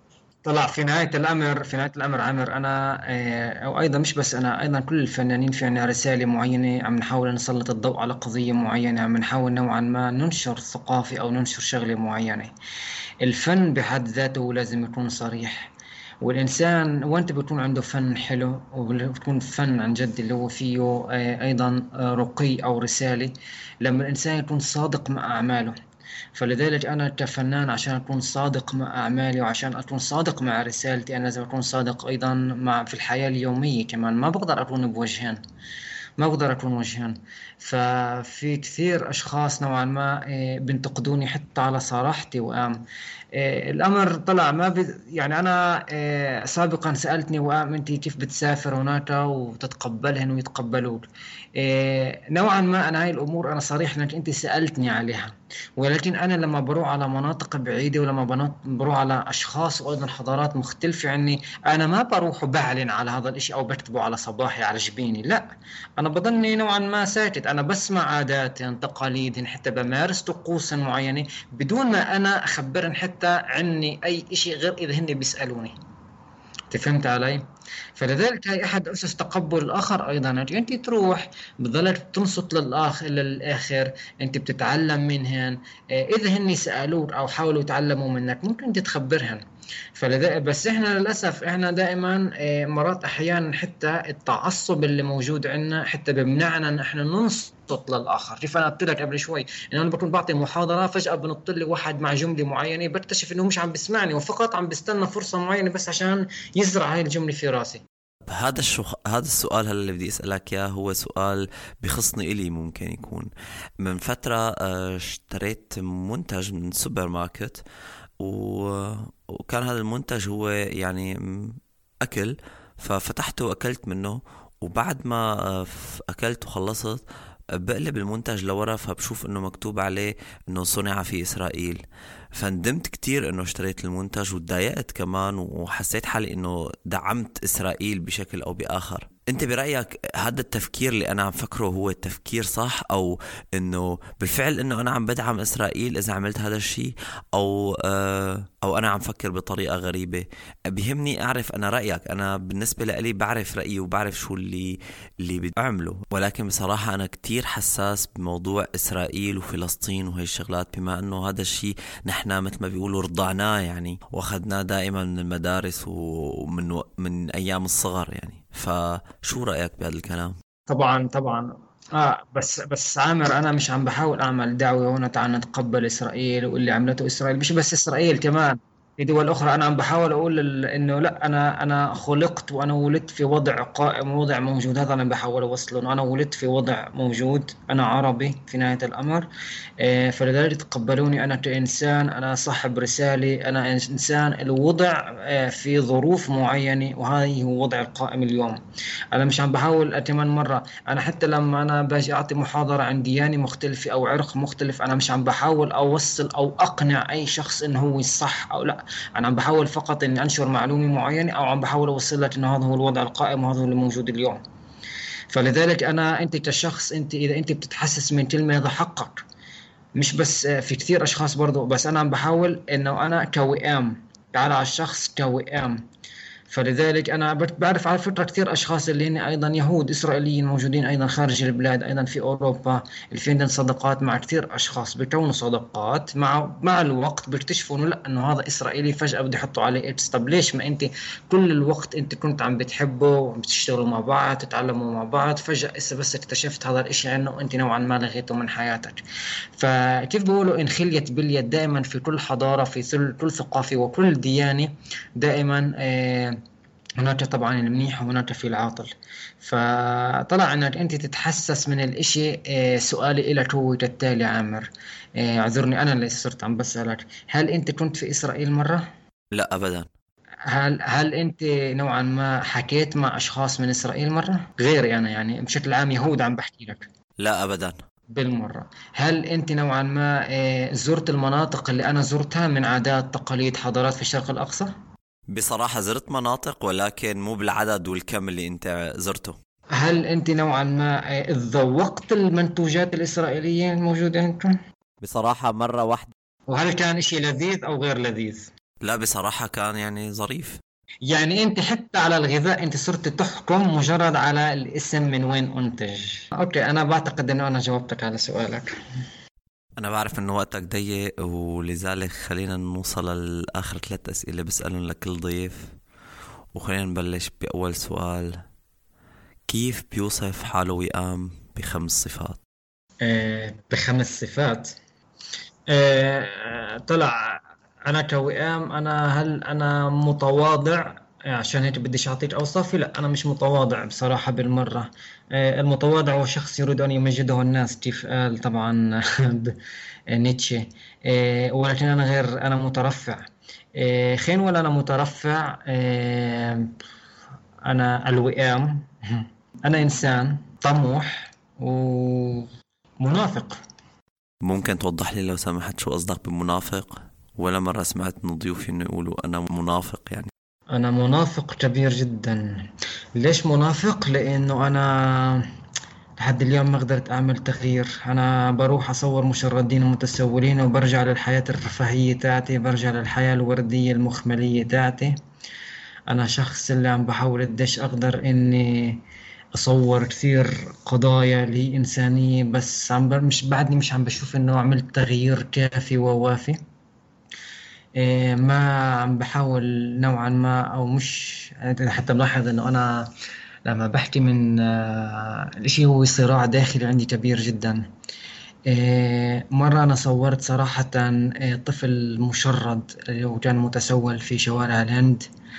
طلع في نهاية الأمر في نهاية الأمر عامر، أنا آه، أو أيضا مش بس أنا، أيضا كل الفنانين في عنا رسالة معينة، عم نحاول نسلط الضوء على قضية معينة، عم نحاول نوعا ما ننشر ثقافة أو ننشر شغلة معينة. الفن بحد ذاته لازم يكون صريح، والإنسان وأنت بيكون عنده فن حلو وبيكون فن عن جد اللي هو فيه آه، أيضا آه، رقي أو رسالة، لما الإنسان يكون صادق مع أعماله. فلذلك أنا كفنان عشان أكون صادق مع أعمالي وعشان أكون صادق مع رسالتي، أنا لازم أكون صادق أيضا مع في الحياة اليومية كمان. ما بقدر أكون بوجهين، ما بقدر أكون وجهان. ففي كثير أشخاص نوعا ما آه، بينتقدوني حتى على صراحتي، وقام آه، الأمر طلع ما بي يعني أنا آه، سابقا سألتني وقام أنت كيف بتسافر هناك وتتقبلهن ويتقبلوك. آه، نوعا ما أنا هاي الأمور أنا صريح لأنك أنت سألتني عليها، ولكن أنا لما بروح على مناطق بعيدة ولما بنط- بروح على أشخاص وأيضا حضارات مختلفة عني، أنا ما بروح وبعلن على هذا الإشي أو بكتبه على صباحي على جبيني، لا. أنا بضلني نوعا ما ساكت، أنا بسمع عاداتهم تقاليدهم، حتى بمارس طقوسا معينة بدون ما أنا أخبرهم حتى عني أي إشي غير إذا هن بيسألوني. أنت فهمت علي؟ فلذلك هي أحد أسس تقبل الآخر أيضا، أنت تروح بتضلك تنصت للآخ للآخر، أنت بتتعلم منهن. آه، إذا هن سألوك أو حاولوا يتعلموا منك ممكن تتخبرهن. فلذلك بس إحنا للأسف إحنا دائما آه، مرات أحيانا حتى التعصب اللي موجود عندنا حتى بمنعنا إن إحنا ننصت للآخر. كيف أنا قلت لك قبل شوي إن أنا بكون بعطي محاضرة فجأة بنط لي واحد مع جملة معينة بكتشف إنه مش عم بسمعني وفقط عم بستنى فرصة معينة بس عشان يزرع هاي الجملة في راسي. هذا الشو... هذا السؤال هلا اللي بدي اسالك اياه هو سؤال بخصني الي. ممكن يكون من فتره آه، اشتريت منتج من سوبر ماركت و... وكان هذا المنتج هو يعني م، اكل. ففتحته واكلت منه، وبعد ما آه، ف- اكلت وخلصت آه، بقلب المنتج لورا فبشوف انه مكتوب عليه انه صنع في اسرائيل. فندمت كتير انه اشتريت المنتج وتضايقت كمان، وحسيت حالي انه دعمت اسرائيل بشكل او باخر. انت برأيك هذا التفكير اللي انا عم فكره هو التفكير صح، او انه بالفعل انه انا عم بدعم اسرائيل اذا عملت هذا الشيء، او آه او انا عم فكر بطريقة غريبة؟ بيهمني اعرف انا رأيك. انا بالنسبة لي بعرف رأيي وبعرف شو اللي اللي بدي اعمله، ولكن بصراحة انا كتير حساس بموضوع اسرائيل وفلسطين وهي الشغلات، بما انه هذا الشيء نحن مثل ما بيقولوا رضعناه يعني، واخذناه دائما من المدارس ومن و... من ايام الصغر يعني. فشو رأيك بهذا الكلام؟ طبعا طبعا. اه بس بس عامر انا مش عم بحاول اعمل دعوة هنا تعال نتقبل اسرائيل واللي عملته اسرائيل، مش بس اسرائيل كمان في دول اخرى. انا عم بحاول اقول ال- انه لا، انا انا خلقت وانا ولدت في وضع قائم ووضع موجود، هذا انا بحاول اوصله انه انا ولدت في وضع موجود، انا عربي في نهاية الامر. آه، فلذلك تقبلوني انا كانسان، انا صاحب رسالة، انا انسان الوضع آه، في ظروف معينة، وهذا هو وضع القائم اليوم. انا مش عم بحاول اتمنى مرة، انا حتى لما انا باجي اعطي محاضرة عن ديانة مختلفة او عرق مختلف انا مش عم بحاول اوصل او اقنع اي شخص انه هو الصح او لا. انا عم بحاول فقط اني انشر معلومة معينة او عم بحاول اوصل لك انه هذا هو الوضع القائم وهذا هو اللي موجود اليوم. فلذلك انا انت كشخص، انت اذا انت بتتحسس من كلمة هذا حقك، مش بس آه، في كثير اشخاص برضو، بس انا عم بحاول انه انا كوئام، تعال على الشخص كوئام. فلذلك أنا بت- بعرف على فكرة كثير أشخاص اللي هن أيضا يهود إسرائيليين موجودين أيضا خارج البلاد، أيضا في أوروبا، اللي في عندهم صداقات مع كثير أشخاص، بيكونوا صداقات مع مع الوقت بيكتشفوا إنه لا، إنه هذا إسرائيلي، فجأة بده يحطوا عليه إكس. طب ليش ما أنت كل الوقت أنت كنت عم بتحبه وعم بتشتغلوا مع بعض تتعلموا مع بعض، فجأة إسا بس اكتشفت هذا الإشي عنه أنت نوعا ما لغيته من حياتك. فكيف بقولوا إن خليت باليد، دائما في كل حضارة في كل كل ثقافة وكل ديانة دائما آه هناك طبعا المنيح وهناك في العاطل. فطلع انك انت تتحسس من الاشي. آه، سؤالي لك هو كالتالي عامر، آه، اعذرني انا اللي صرت عم بسألك، هل انت كنت في اسرائيل مرة؟ لا ابدا. هل هل انت نوعا ما حكيت مع اشخاص من اسرائيل مرة غيري انا، يعني بشكل عام يهود عم بحكي لك؟ لا ابدا. بالمرة. هل انت نوعا ما آه، زرت المناطق اللي انا زرتها من عادات تقاليد حضارات في الشرق الاقصى؟ بصراحة زرت مناطق ولكن مو بالعدد والكم اللي انت زرته. هل أنت نوعا ما آه، ذوقت المنتوجات الإسرائيلية الموجودة عندكم؟ بصراحة مرة واحدة. وهل كان إشي لذيذ أو غير لذيذ؟ لا بصراحة كان يعني ظريف. يعني انت حتى على الغذاء انت صرت تحكم مجرد على الاسم من وين انتج. اوكي، انا بعتقد انه انا جاوبتك على سؤالك. أنا بعرف إنه وقتك ضيق، ولذلك خلينا نوصل لآخر ثلاث أسئلة بسألهم لكل ضيف، وخلينا نبلش بأول سؤال. كيف بيوصف حاله وئام بخمس صفات؟ آه بخمس صفات. آه طلع انا كوئام، انا هل انا متواضع؟ عشان هيك بديش اعطيك اوصافي. لا، انا مش متواضع بصراحة بالمرة. آه المتواضع هو شخص يريد ان يمجده الناس، كيف قال طبعا ب- نيتشه. آه ولكن انا غير، انا مترفع. آه خين ولا انا مترفع. آه انا الوئام. انا انسان طموح ومنافق. ممكن توضح لي لو سمحت شو قصدك بمنافق؟ ولا مرة سمعت من ضيوفي إنه يقولوا أنا منافق يعني. أنا منافق كبير جدا. ليش منافق؟ لأنه أنا لحد اليوم ما قدرت أعمل تغيير. أنا بروح أصور مشردين ومتسولين وبرجع للحياة الرفاهية تاعتي، برجع للحياة الوردية المخملية تاعتي. أنا شخص اللي عم بحاول قديش أقدر إني أصور كثير قضايا لي إنسانية، بس عم ب... مش بعدني مش عم بشوف إنه عملت تغيير كافي ووافي. إيه، ما عم بحاول نوعا ما، او مش يعني حتى ملاحظ انه انا لما بحكي من آه، الاشي هو صراع داخلي عندي كبير جدا. إيه، مرة أنا صورت صراحة إيه، طفل مشرد اللي هو كان متسول في شوارع الهند،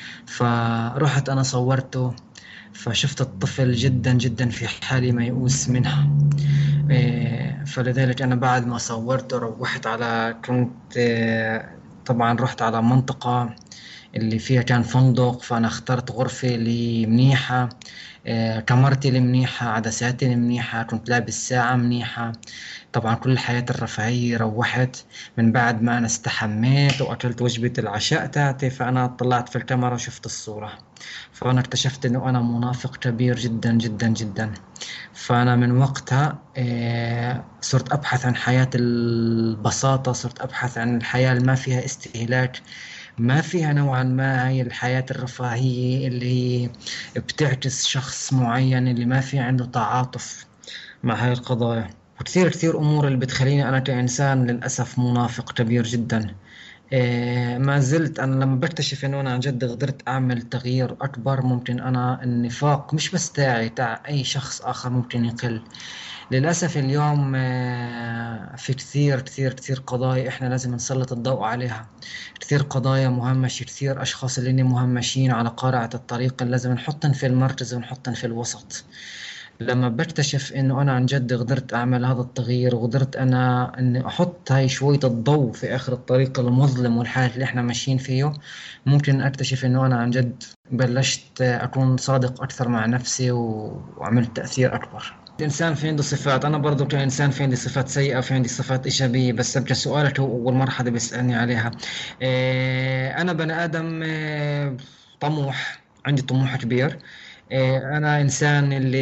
فرحت أنا صورته. فشفت الطفل جدا جدا في حالة ميؤوس منها. إيه، فلذلك أنا بعد ما صورته روحت على كنت إيه، طبعا رحت على منطقة اللي فيها كان فندق، فأنا اخترت غرفة اللي منيحة. إيه، كاميرتي اللي منيحة، عدساتي اللي منيحة، كنت لابس ساعة منيحة. طبعا كل الحياة الرفاهية. روحت من بعد ما أنا استحميت وأكلت وجبة العشاء تاعتي، فأنا طلعت في الكاميرا وشفت الصورة. فأنا اكتشفت إنه أنا منافق كبير جدا جدا جدا. فأنا من وقتها آه، صرت أبحث عن حياة البساطة، صرت أبحث عن الحياة اللي ما فيها استهلاك، ما فيها نوعا ما هي الحياة الرفاهية اللي بتعكس شخص معين اللي ما في عنده تعاطف مع هاي القضايا. وكثير كثير أمور اللي بتخليني أنا كإنسان للأسف منافق كبير جدا. إيه، ما زلت أنا لما بكتشف إنه أنا عن جد قدرت أعمل تغيير أكبر، ممكن أنا النفاق مش بس تاعي، تاع أي شخص آخر ممكن يقل. للأسف اليوم آه، في كثير كثير كثير قضايا إحنا لازم نسلط الضوء عليها. كثير قضايا مهمشة، كثير أشخاص اللي مهمشين على قارعة الطريق اللي لازم نحطن في المركز ونحطن في الوسط. لما بكتشف انه انا عن جد قدرت اعمل هذا التغيير، وقدرت انا اني احط هاي شوية الضوء في اخر الطريق المظلم والحالة اللي احنا ماشيين فيه، ممكن اكتشف انه انا عن جد بلشت اكون صادق اكثر مع نفسي و- وعملت تأثير اكبر. الانسان في عنده صفات، انا برضو كانسان في عندي صفات سيئة وفي عندي صفات ايجابية، بس ابقى سؤالك هو اول مرحلة بيسألني عليها. إيه، انا بني ادم إيه، طموح، عندي طموح كبير. إيه، أنا إنسان اللي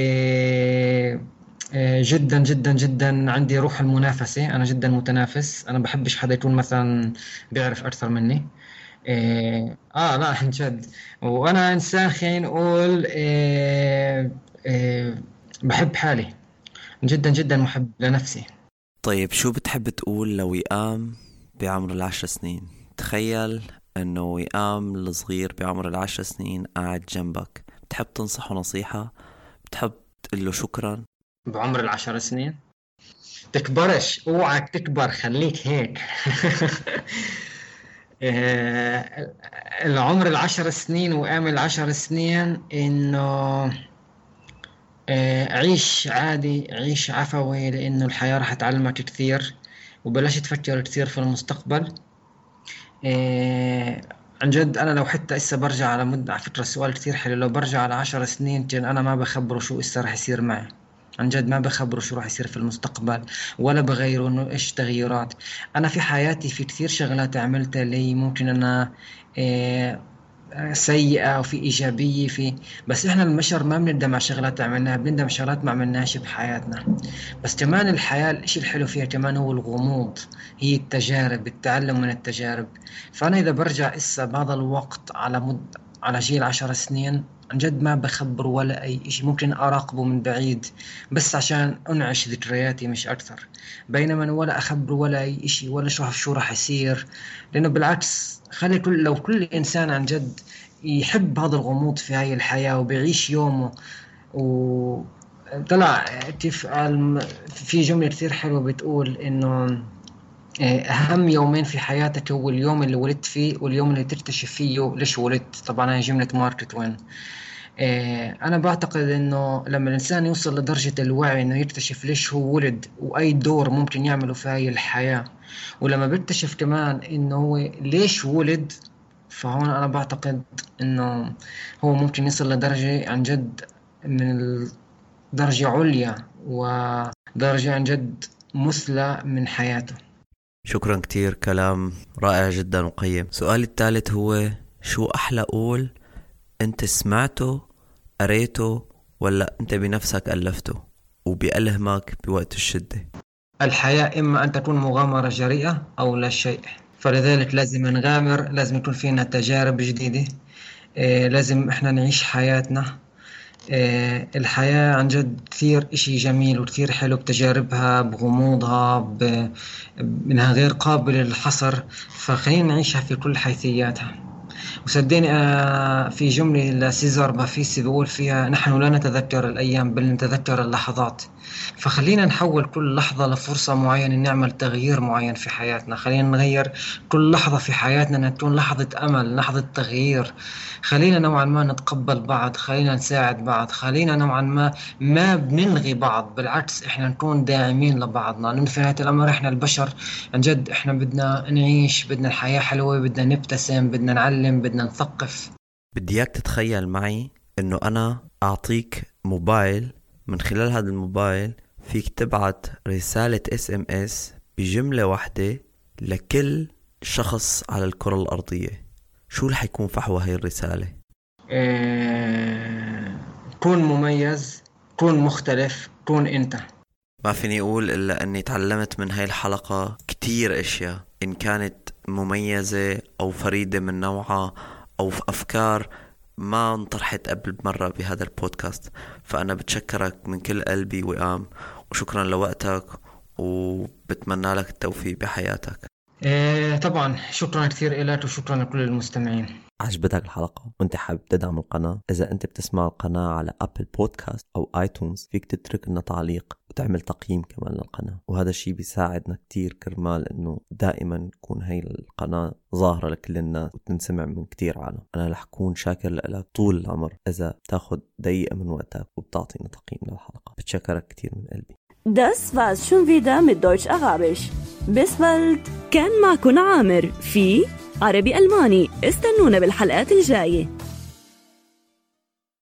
إيه، جدا جدا جدا عندي روح المنافسة، أنا جدا متنافس، أنا بحبش حدا يكون مثلا بيعرف أكثر مني. إيه، آه لا عن جد. وأنا إنسان خلينا نقول إيه، إيه، بحب حالي، جدا جدا محب لنفسي. طيب شو بتحب تقول لو وئام بعمر العشر سنين؟ تخيل انه وئام الصغير بعمر العشر سنين قاعد جنبك، بتحب تنصحه نصيحة؟ بتحب تقول له شكرا؟ بعمر العشر سنين؟ تكبرش، اوعك تكبر، خليك هيك. آه، العمر العشر سنين وآمل العشر سنين إنه آه، عيش عادي، عيش عفوي، لأنه الحياة راح تعلمك كثير. وبلاش تفكر كثير في المستقبل. آه، عن جد أنا لو حتى إسا برجع على مدة، على فكرة السؤال كثير حلو، لو برجع على عشر سنين كان أنا ما بخبره شو إسا راح يصير معي. عن جد ما بخبره شو راح يصير في المستقبل، ولا بغيره انه ايش تغيرات. انا في حياتي في كثير شغلات عملتها اللي ممكن انا آه، سيئة وفي إيجابية في، بس إحنا البشر ما بندم على شغلات عملناها، بندم شغلات ما عملناش بحياتنا. بس كمان الحياة الإشي الحلو فيها كمان هو الغموض، هي التجارب، التعلم من التجارب. فأنا إذا برجع إسا بهذا الوقت على مد على جيل عشر سنين، عن جد ما بخبر ولا أي إشي، ممكن أراقبه من بعيد بس عشان أنعش ذكرياتي مش أكثر. بينما ولا أخبر ولا أي إشي ولا شو شو راح يصير، لأنه بالعكس خلي كل لو كل إنسان عن جد يحب هذا الغموض في هاي الحياة وبيعيش يومه. وطلع كيف في جملة كثير حلوة بتقول إنه أهم يومين في حياتك هو اليوم اللي ولدت فيه واليوم اللي تكتشف فيه ليش ولدت. طبعا هاي جملة مارك توين. أنا بعتقد إنه لما الإنسان يوصل لدرجة الوعي إنه يكتشف ليش هو ولد وأي دور ممكن يعمله في هاي الحياة، ولما بيكتشف كمان إنه هو ليش ولد، فهون أنا بعتقد إنه هو ممكن يصل لدرجة عن جد من درجة عليا ودرجة عن جد مثلى من حياته. شكرا كتير، كلام رائع جدا وقيم. سؤالي الثالث هو شو أحلى قول أنت سمعته قريته ولا أنت بنفسك ألفته وبيألهمك بوقت الشدة؟ الحياة إما أن تكون مغامرة جريئة أو لا شيء، فلذلك لازم نغامر، لازم يكون فينا تجارب جديدة، إيه لازم إحنا نعيش حياتنا. إيه الحياة عن جد كثير إشي جميل وكثير حلو بتجاربها بغموضها ب... منها غير قابل للحصر، فخلينا نعيشها في كل حيثياتها. وصدقني في جملة لسيزار بافيسي بيقول فيها نحن لا نتذكر الأيام بل نتذكر اللحظات. فخلينا نحول كل لحظة لفرصة معينة نعمل تغيير معين في حياتنا، خلينا نغير كل لحظة في حياتنا تكون لحظة أمل، لحظة تغيير. خلينا نوعا ما نتقبل بعض، خلينا نساعد بعض، خلينا نوعا ما ما بنلغي بعض، بالعكس إحنا نكون داعمين لبعضنا، لأن في نهاية الأمر إحنا البشر عن جد إحنا بدنا نعيش، بدنا الحياة حلوة، بدنا نبتسم، بدنا نعلم، بدنا نثقف. بدي اياك تتخيل معي انه انا اعطيك موبايل، من خلال هذا الموبايل فيك تبعت رسالة اس ام اس بجملة واحدة لكل شخص على الكرة الارضية. شو رح يكون فحوى هاي الرسالة؟ إيه... كون مميز، كون مختلف، كون انت. ما فيني اقول الا اني تعلمت من هاي الحلقة كتير اشياء، ان كانت مميزة او فريدة من نوعها أو في أفكار ما انطرحت قبل مرة بهذا البودكاست. فأنا بتشكرك من كل قلبي وقام، وشكرا لوقتك، وبتمنى لك التوفيق بحياتك. إيه طبعا شكرا كثير إلك وشكرا لكل المستمعين. عجبتك الحلقة وانت حابب تدعم القناة؟ إذا انت بتسمع القناة على أبل بودكاست أو آيتونز فيك تترك لنا تعليق وتعمل تقييم كمان للقناة، وهذا الشيء بيساعدنا كتير كرمال انه دائما تكون هاي القناة ظاهرة لكل الناس وتنسمع من كتير عالم. انا رح كون شاكر لك طول العمر اذا تاخد دقيقة من وقتك وبتعطينا تقييم للحلقة. بتشكرك كتير من قلبي. Das war's schon wieder mit Deutsch Arabisch. Bis bald. كان معكم عامر في عربي ألماني. استنونا بالحلقات الجاية.